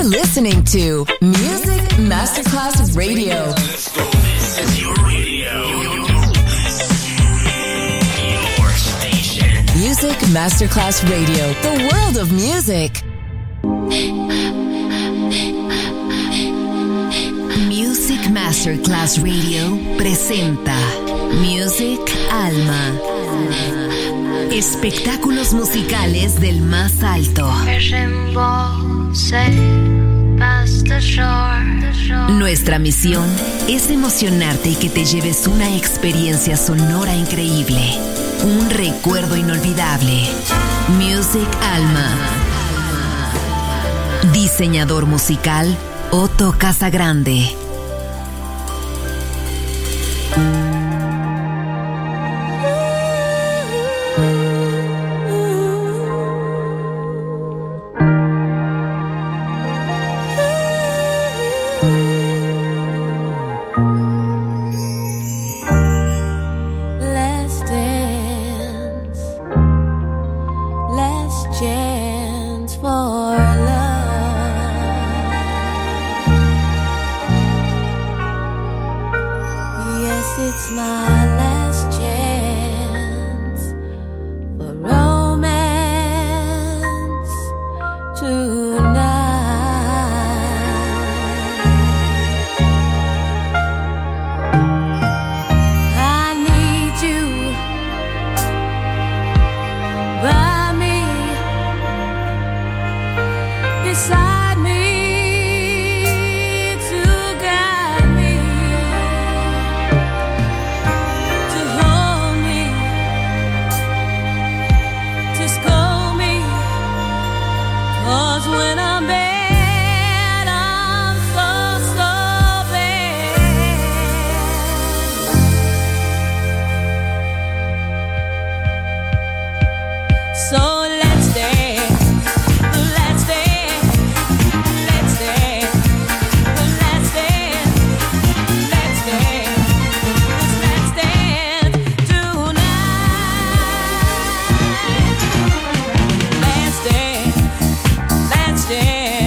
You're listening to Music Masterclass Radio. Let's go. This is your radio. Your station. Music Masterclass Radio. The world of music. Music Masterclass Radio presenta Music Alma. Espectáculos musicales del más alto. Nuestra misión es emocionarte y que te lleves una experiencia sonora increíble, un recuerdo inolvidable. Music Alma. Diseñador musical Otto Casagrande. Let's dance.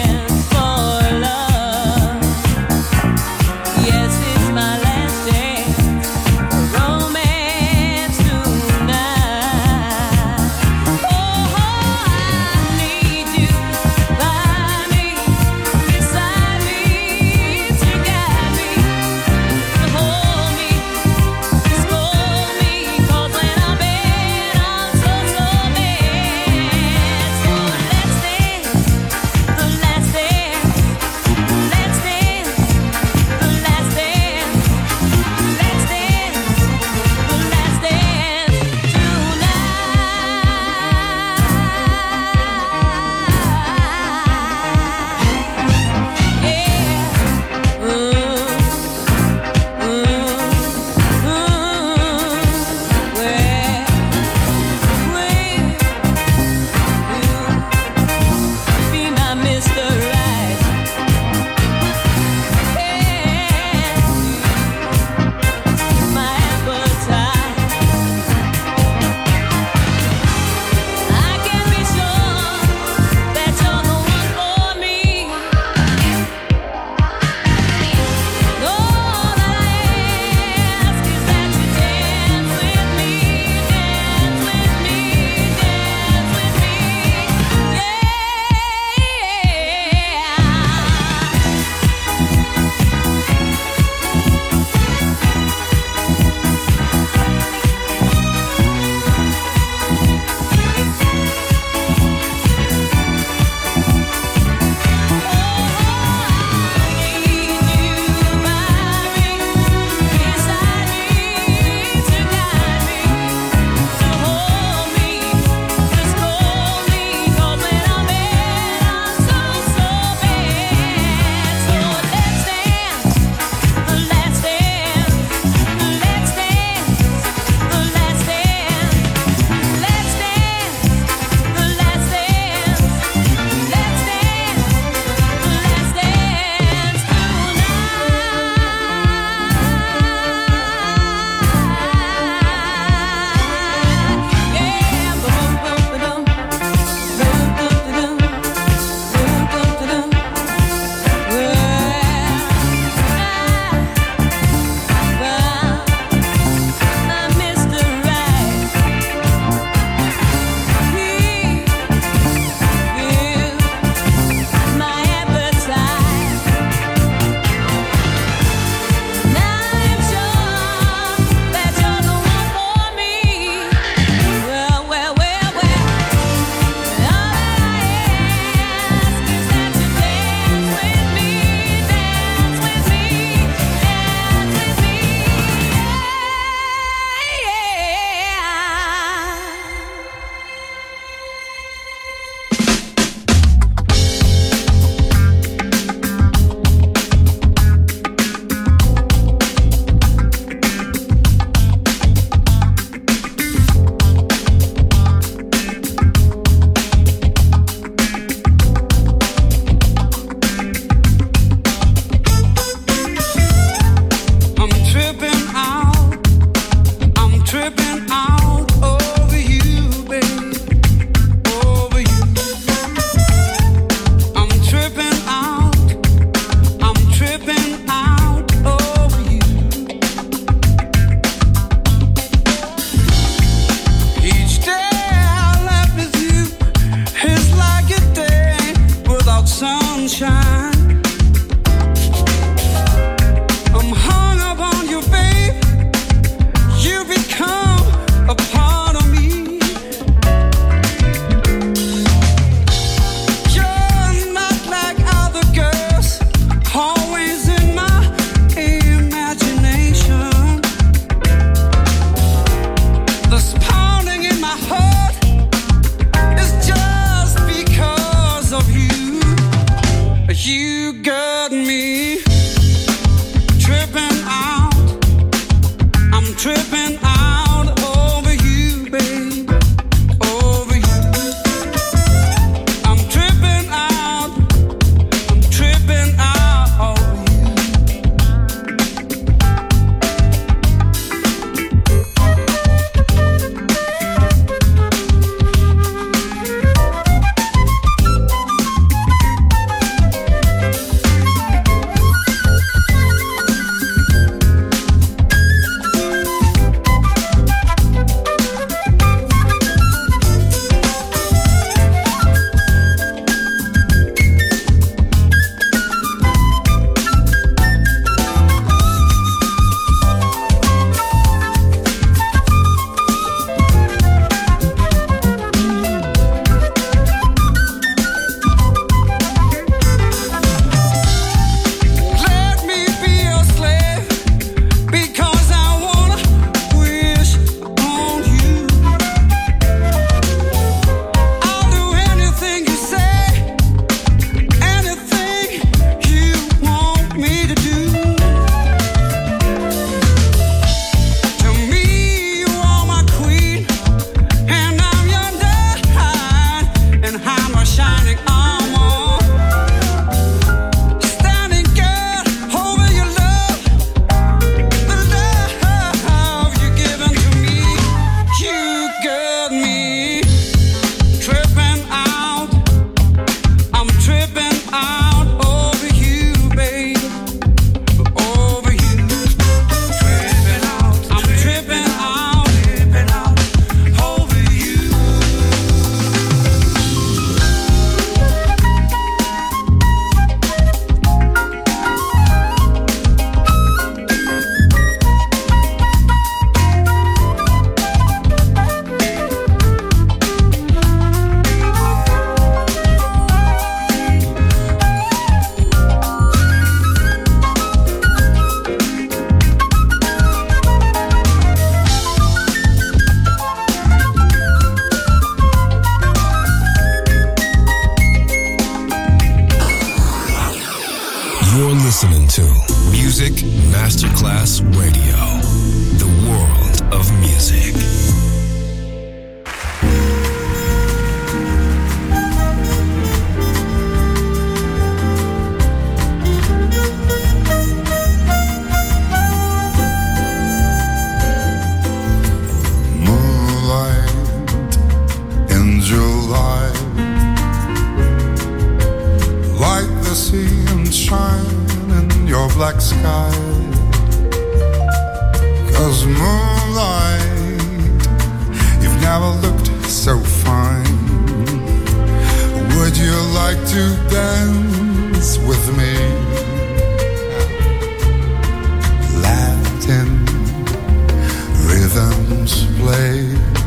You got me tripping out. I'm tripping out over you, babe. Over you. I'm tripping out. I'm tripping out over you. listening to Music Masterclass Radio, the world of music. Moonlight in July, like the sea and shine in your black sky. 'Cause moonlight, you've never looked so fine. Would you like to dance with me? Latin rhythms play.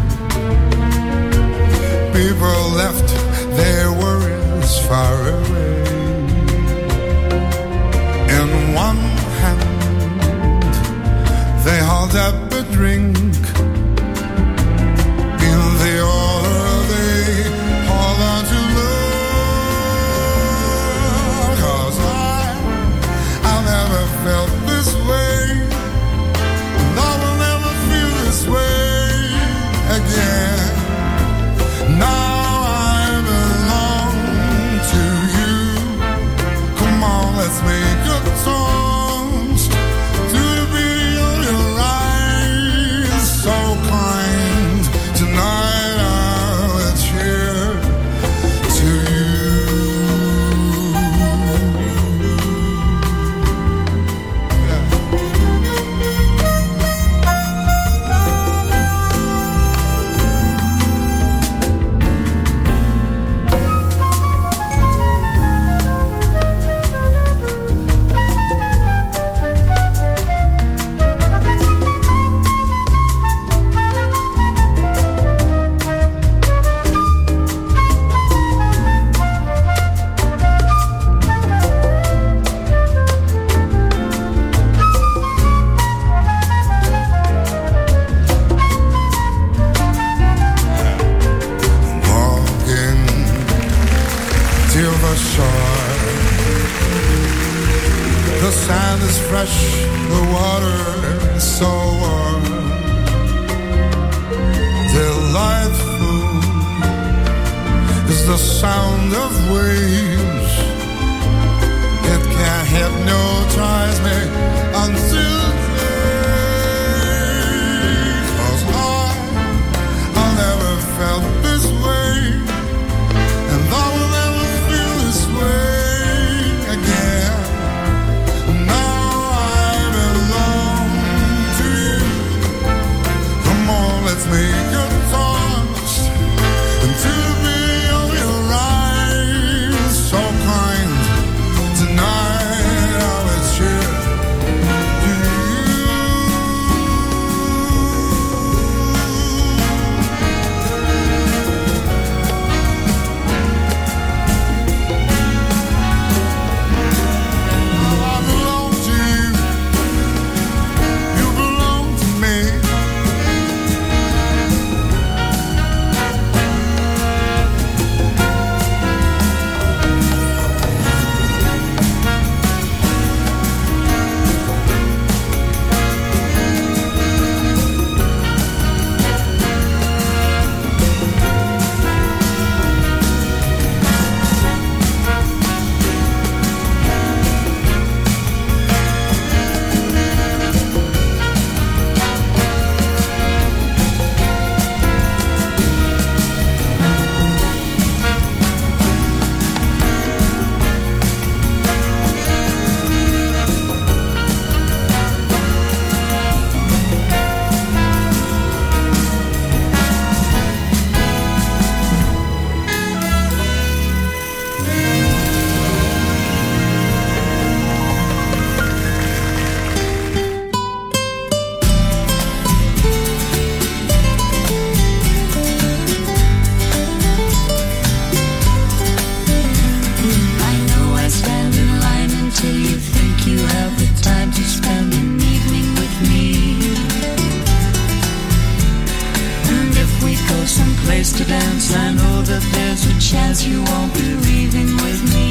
People left their worries far away. In one hand, they hold up a drink. In the other, they hold on to love. 'Cause I've never felt this way, and I will never feel this way again. Now I belong to you. Come on, let's make a toast to the beauty of your eyes, so kind. Tonight I'll cheer to you. Walking till the shore, The sand is fresh, the water is so warm. Delightful is the sound of waves. It can hypnotize me until day. 'Cause I've never felt this way, and I will never feel this way again. Now I belong to you. Come on, let's make a toast into the beauty of your eyes, so kind. Tonight I will cheer to you. I belong to you. You belong to me. I know I stand in line until you think you have the time to spend an evening with me. And if we go someplace to dance, I know that there's a chance you won't be leaving with me.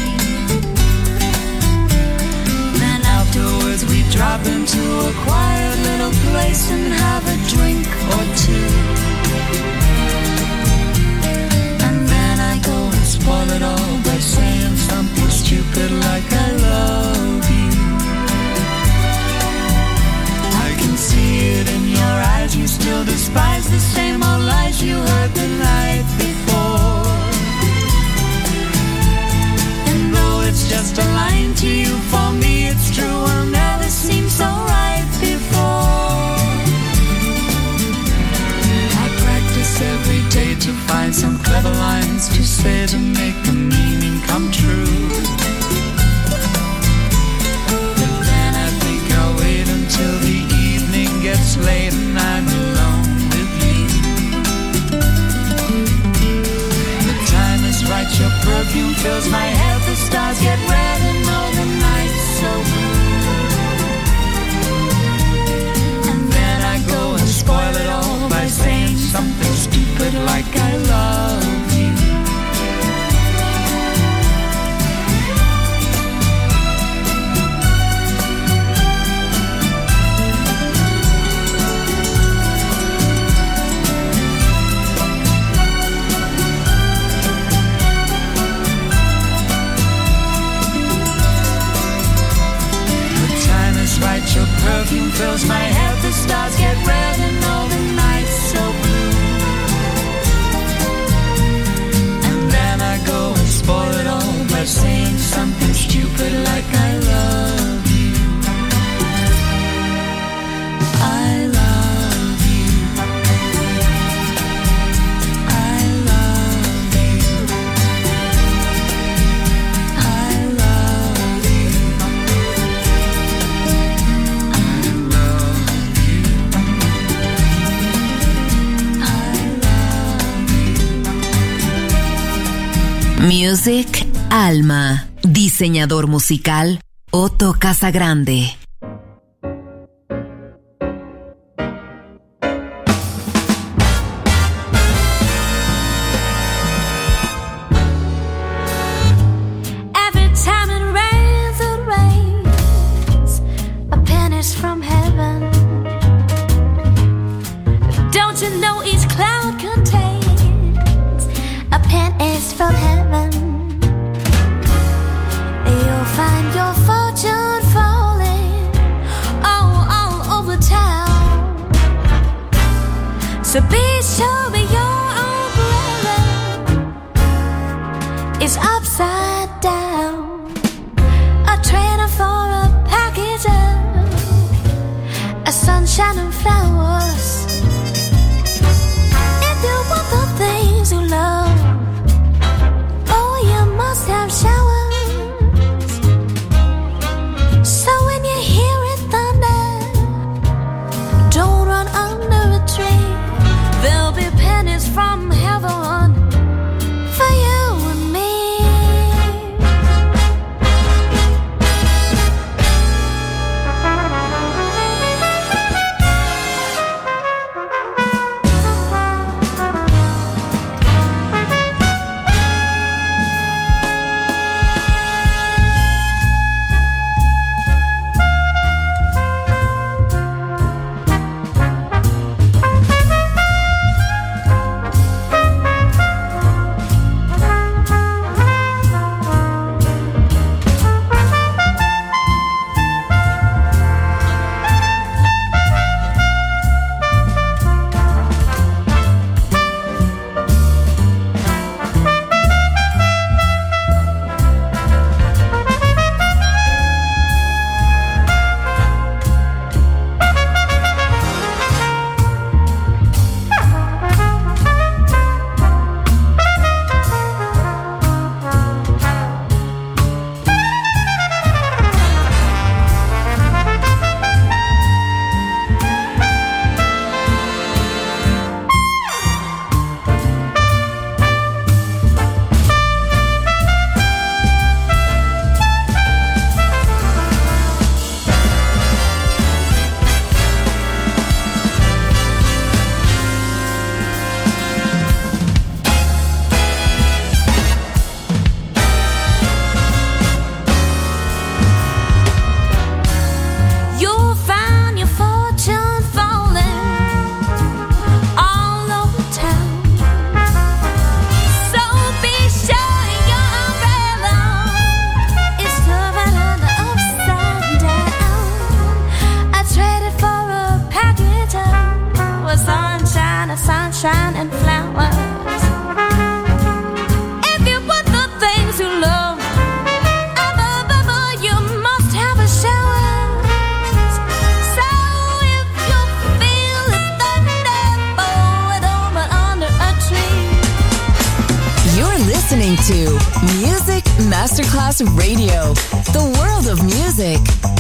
Then afterwards we drop into a quiet little place and have a drink or two. And then I go and spoil it all by saying something stupid like I love you. I can see it in your eyes, you still despise the same old lies you heard the night before. And though it's just a line to you, for me it's true, will never seem so right before. I practice every day to find some clever lines to say to make the meaning come true. But then I think I'll wait until the evening gets late and I'm alone with you. The time is right, your perfume fills my head, the stars get red and all the nights so blue. And then I go and spoil it all by saying something stupid like I love you. The time is right, your perfume fills my head, the stars get red and all the nights so blue. And then I go and spoil it all by saying something stupid like I love you. I love you. I love you. I love you. Music Alma. Diseñador musical Otto Casagrande. Every time it rains, So be sure your umbrella is upside down. A trainer for a package of sunshine and flowers. If you want the things you love, oh, you must have showers. So when you hear it thunder, don't run under a tree. There'll be pennies from heaven for you and me. Sunshine and flowers. If you want the things you love, you must have a showers. So if you feel it thunder, it over under a tree. You're listening to Music Masterclass Radio, the world of music.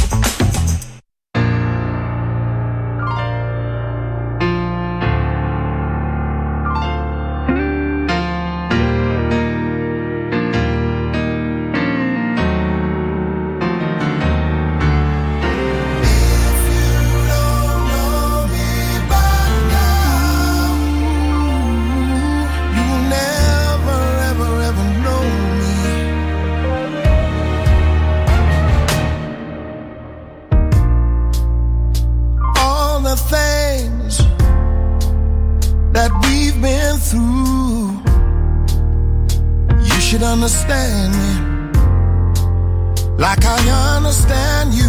Understand me like I understand you.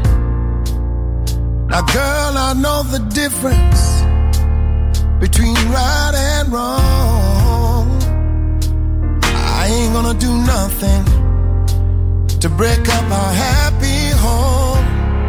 Now, girl, I know the difference between right and wrong. I ain't gonna do nothing to break up our happy home.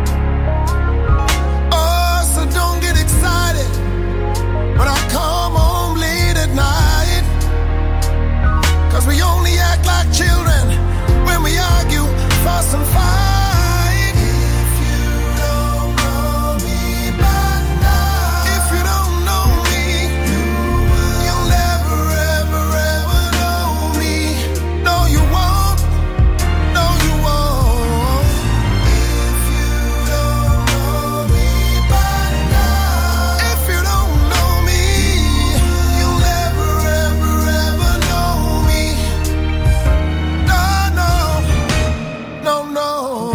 Oh, so don't get excited when I come home late at night, 'cause we only act like children when we argue, fuss and fight. If you don't know me by now, if you don't know me, you'll never, ever, ever know me. No, you won't. No, you won't. If you don't know me by now, if you don't know me, you'll never, ever, ever know me. No, no, no, no.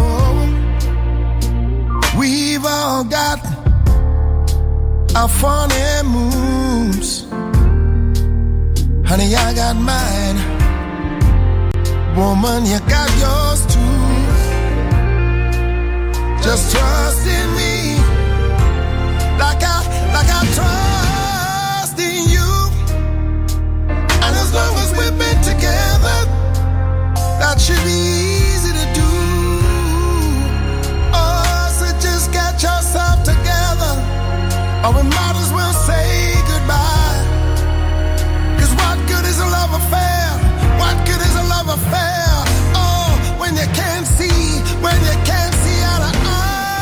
We've all got our funny moves. Honey, I got mine. Woman, you got yours too. Just trust in me like I trust That should be easy to do. Oh, so just get yourself together, or we might as well say goodbye. 'Cause what good is a love affair? What good is a love affair? Oh, when you can't see, when you can't see eye to eye.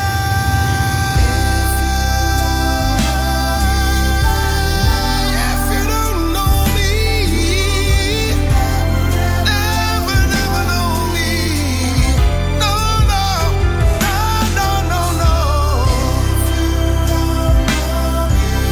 If you don't know me, never, never know me. No, no, no, no, no, no.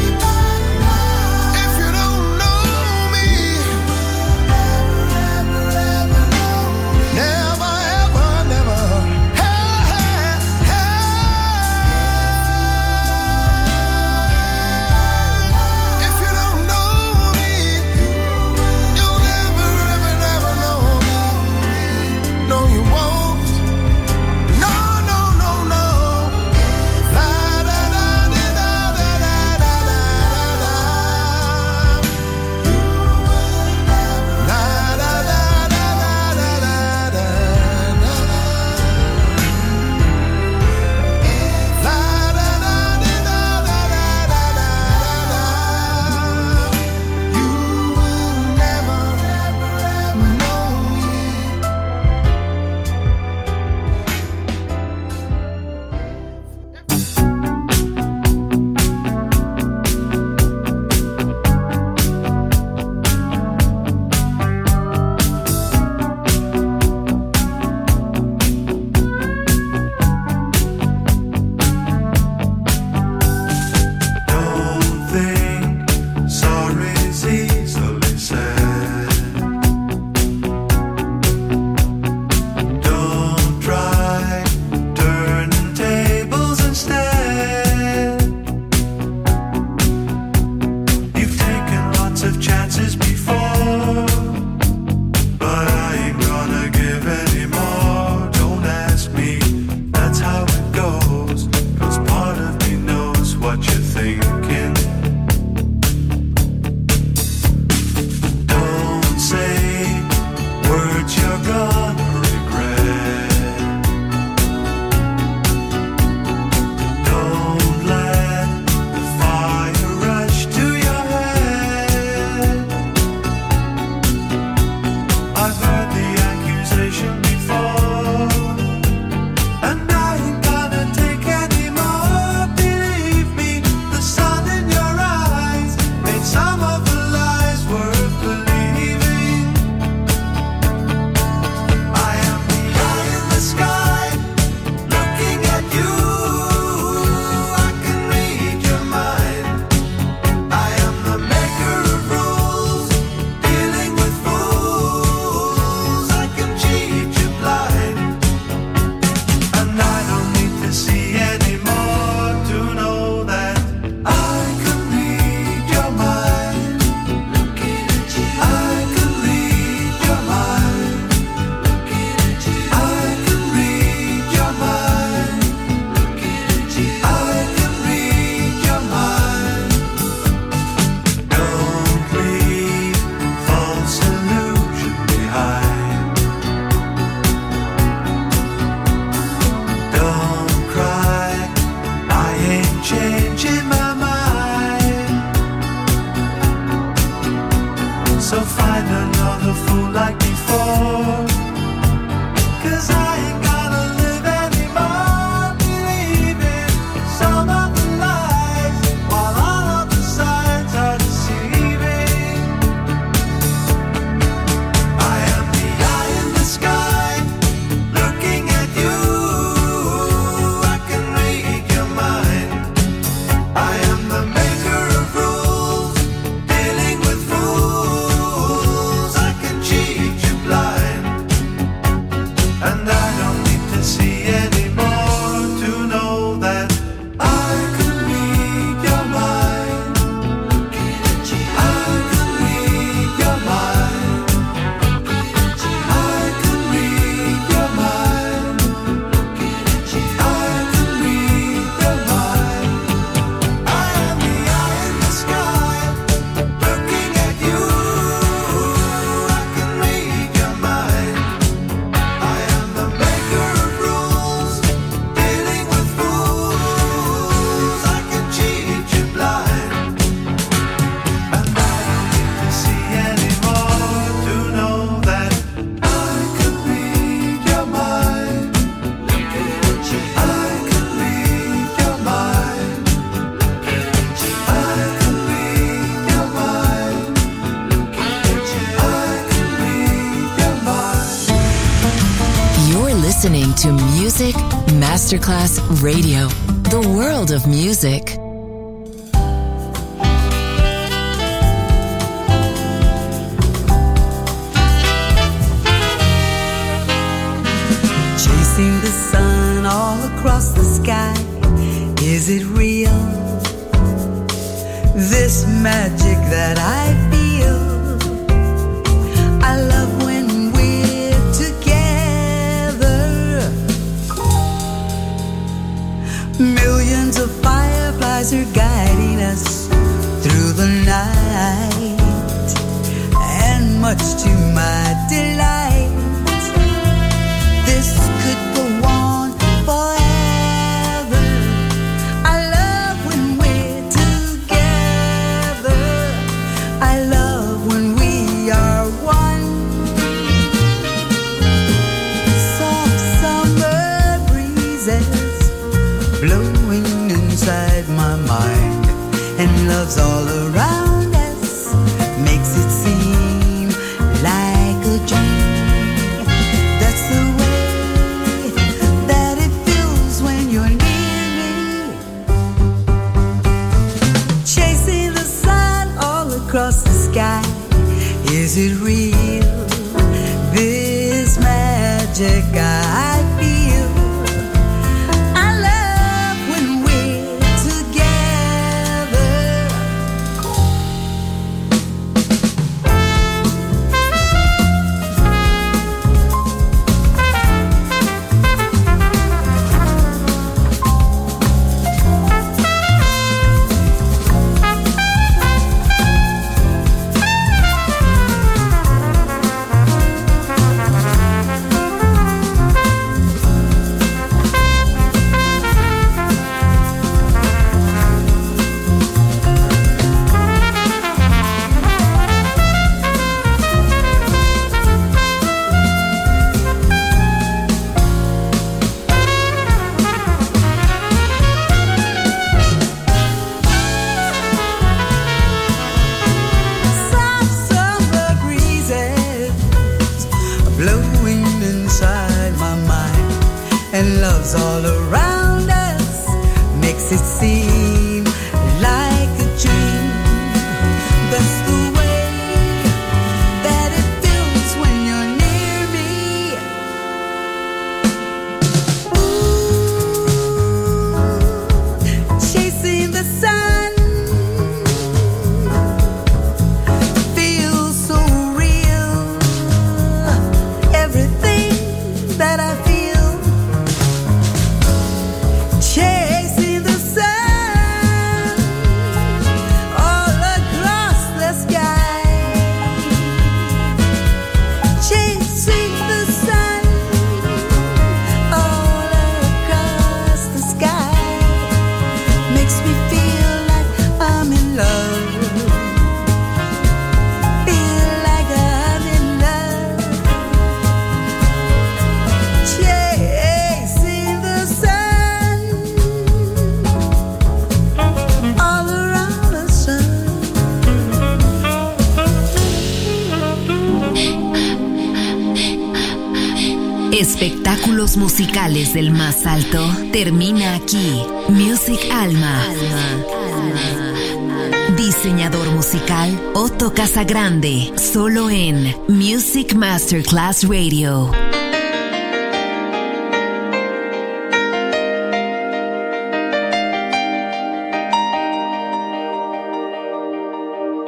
listening to Music Masterclass Radio, the world of music. Chasing the sun all across the sky, is it real? This magic that I feel, I love when we're together. Millions of fireflies are guiding us through the night, and much to my delight, this could go on forever. I love when we're together. I love when we are one. Soft summer breezes blowing inside my mind, and love's all around us, makes it seem like a dream. That's the way that it feels when you're near me. Chasing the sun all across the sky, is it real? This magic I feel, I love when we're together. Soft summer breezes blowing inside my mind, and love's all around us, makes it seem like a dream. That's the way that it feels when you're near me. Chasing the sun feels so real. Everything that I feel, chasing the sun all across the sky, chasing the sun all across the sky, makes me feel like I'm in love, feel like I'm in love. Chasing the sun all around the sun. Espectáculos musicales del más alto termina aquí. Music Alma. Diseñador musical Otto Casagrande, solo en Music Masterclass Radio.